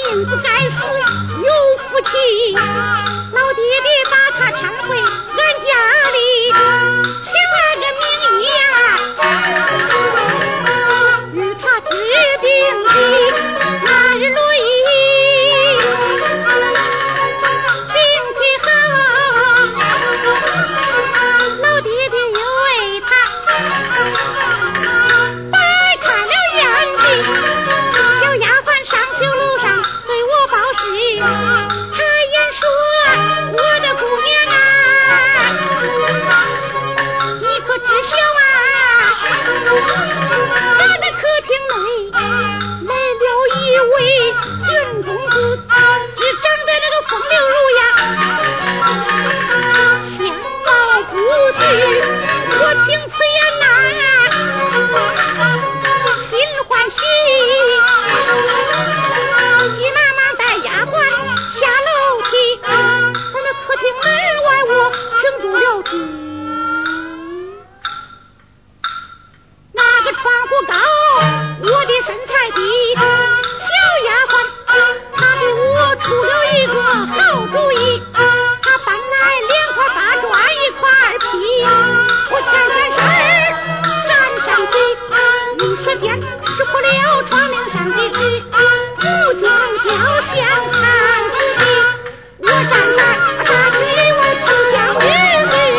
命不该死，有福气。老爹爹把他搀回俺家里，请来个名医与他治病的那日落医，病体好，老爹爹又为他掰开了眼睛。小丫鬟上酒楼上对我报喜，他言说我的姑娘你可知晓咱的客厅内来了一位云公子，只长得那个风流如呀，相貌不具，我听此言心欢喜，急忙忙带丫鬟下楼梯，在那客厅门外我停住了脚。那个窗户高，我的身材低，小丫鬟她给我出了一个好主意，她搬来2块8砖1块皮，我前3身站上去，一时间识破了窗棂上的纸，不将雕像看仔细，我站在大水我只将日子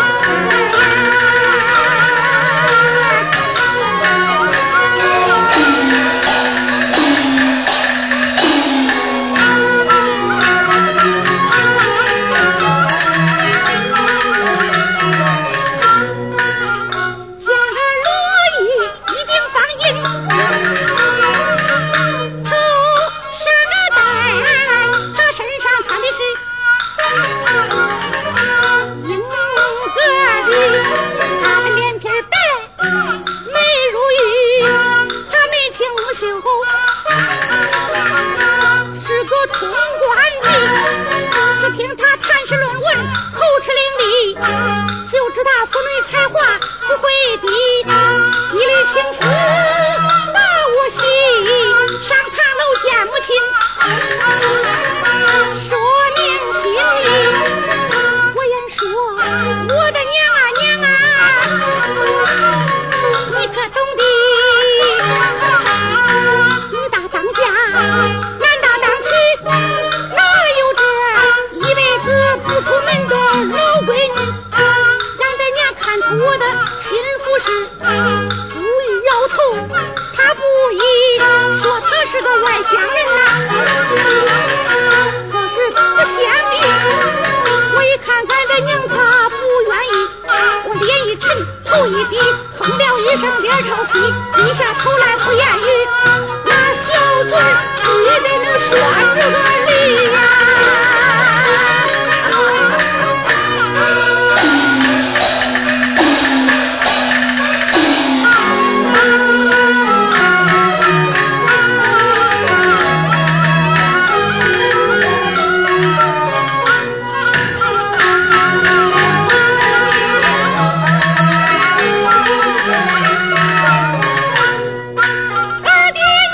二爹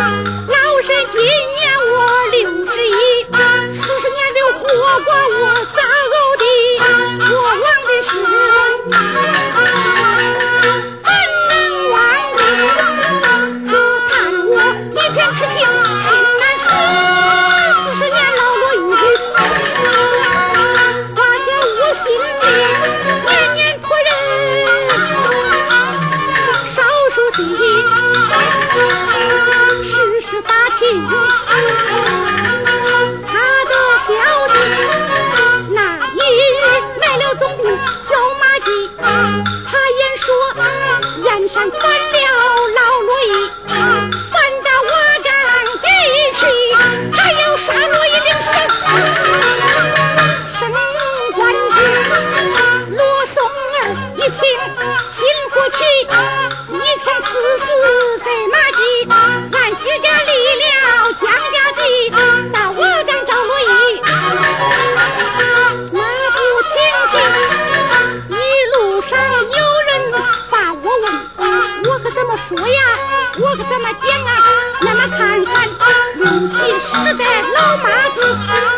老身今年我61，40年就活过我咋呕的，我忘的是怎能忘的？可叹我一片痴情心难舍，40年老落雨，挂在我心里，年年托人少数的世事打听，他的消息那一卖了总兵叫马季，他言说燕山反了老罗伊，反打我战地去，还要杀罗伊领袖，升官职罗松儿一听心不起，一天刺死在马季，俺徐家离了江家地，那我敢找罗伊，那不听听一路上有人把我问，我可怎么说呀，我可怎么讲啊？那么看看如今时代老妈子